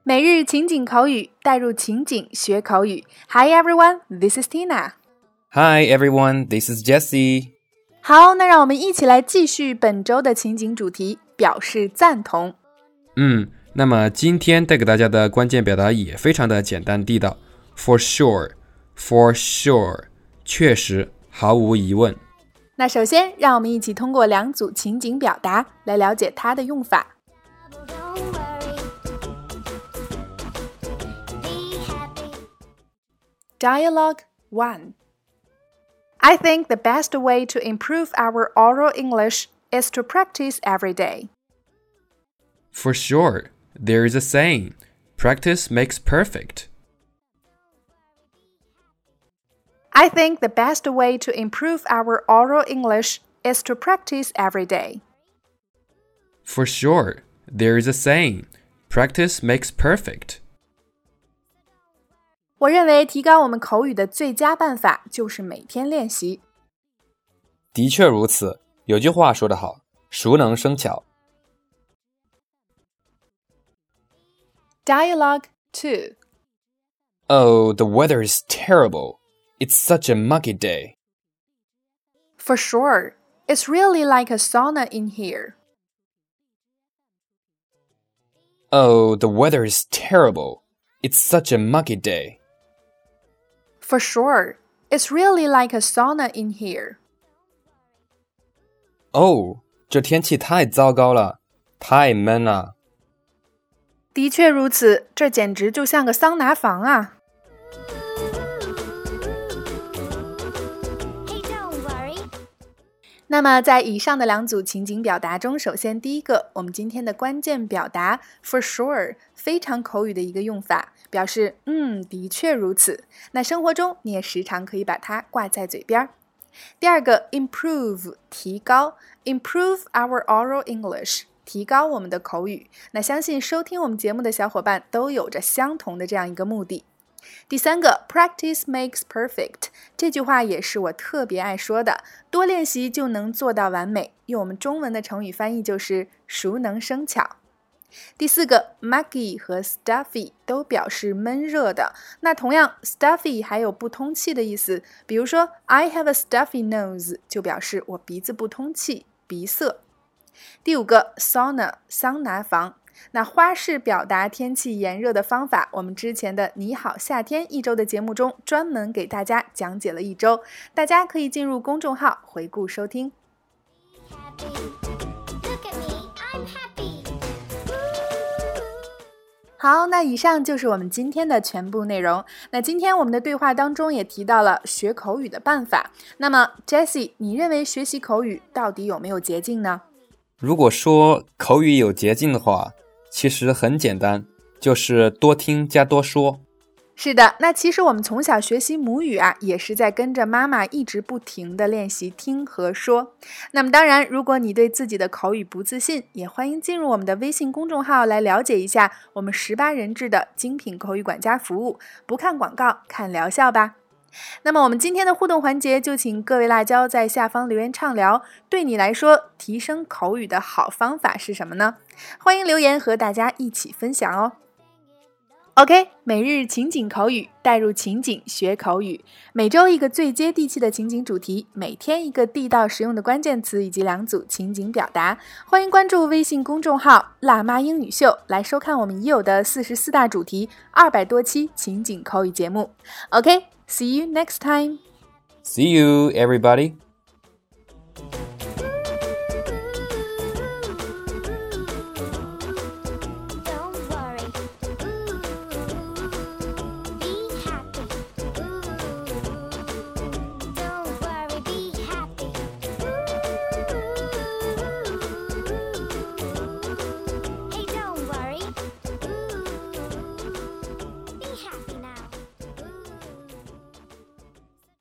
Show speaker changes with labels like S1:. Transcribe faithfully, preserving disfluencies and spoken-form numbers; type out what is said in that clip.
S1: 每日情景口语，带入情景学口语。Hi everyone, this is Tina.
S2: Hi everyone, this is Jessie.
S1: 好，那让我们一起来继续本周的情景主题，表示赞同。
S2: 嗯，那么今天带给大家的关键表达也非常的简单地道。For sure, for sure, 确实，毫无疑问。
S1: 那首先，让我们一起通过两组情景表达来了解它的用法。Dialogue one. I think the best way to improve our oral English is to practice every day.
S2: For sure, there is a saying, practice makes perfect.
S1: I think the best way to improve our oral English is to practice every day.
S2: For sure, there is a saying, practice makes perfect.
S1: 我认为提高我们口语的最佳办法就是每天练习。
S2: 的确如此，有句话说得好，熟能生巧。
S1: Dialogue two.
S2: Oh, the weather is terrible. It's such a muggy day.
S1: For sure, it's really like a sauna in here.
S2: Oh, the weather is terrible. It's such a muggy day.
S1: For sure, it's really like a sauna in here.
S2: 哦，这天气太糟糕了，太闷了。
S1: 的确如此，这简直就像个桑拿房啊。那么在以上的两组情景表达中，首先第一个，我们今天的关键表达 for sure 非常口语的一个用法，表示嗯，的确如此。那生活中你也时常可以把它挂在嘴边。第二个 improve 提高 improve our oral English 提高我们的口语。那相信收听我们节目的小伙伴都有着相同的这样一个目的。第三个 practice makes perfect 这句话也是我特别爱说的，多练习就能做到完美，用我们中文的成语翻译就是熟能生巧。第四个 muggy 和 stuffy 都表示闷热的，那同样 stuffy 还有不通气的意思，比如说 I have a stuffy nose 就表示我鼻子不通气，鼻塞。第五个 sauna 桑拿房，那花式表达天气炎热的方法，我们之前的你好夏天一周的节目中专门给大家讲解了一周，大家可以进入公众号回顾收听。好，那以上就是我们今天的全部内容。那今天我们的对话当中也提到了学口语的办法。那么 Jessie， 你认为学习口语到底有没有捷径呢？
S2: 如果说口语有捷径的话，其实很简单，就是多听加多说。
S1: 是的，那其实我们从小学习母语啊，也是在跟着妈妈一直不停地练习听和说。那么当然，如果你对自己的口语不自信，也欢迎进入我们的微信公众号来了解一下我们十八人制的精品口语管家服务，不看广告，看疗效吧。那么我们今天的互动环节，就请各位辣椒在下方留言畅聊，对你来说提升口语的好方法是什么呢？欢迎留言和大家一起分享哦。OK， 每日情景口语，带入情景学口语，每周一个最接地气的情景主题，每天一个地道实用的关键词以及两组情景表达。欢迎关注微信公众号辣妈英语秀，来收看我们已有的四十四大主题二百多期情景口语节目。OK，See you next time.
S2: See you, everybody.